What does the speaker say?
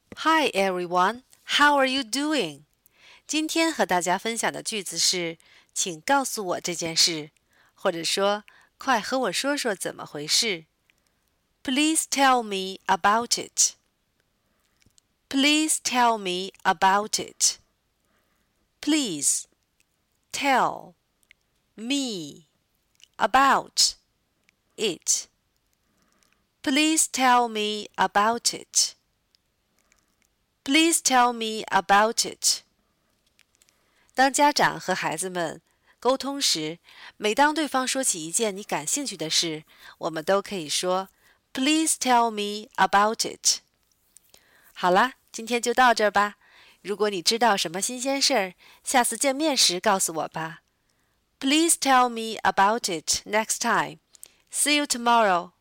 Hi everyone, how are you doing? 今天和大家分享的句子是请告诉我这件事，或者说快和我说说怎么回事。Please tell me about it. Please tell me about it. Please tell me about it. Please tell me about it. Please tell me about it. 当家长和孩子们沟通时，每当对方说起一件你感兴趣的事，我们都可以说 Please tell me about it. 好啦，今天就到这儿吧。如果你知道什么新鲜事儿，下次见面时告诉我吧。Please tell me about it next time. See you tomorrow.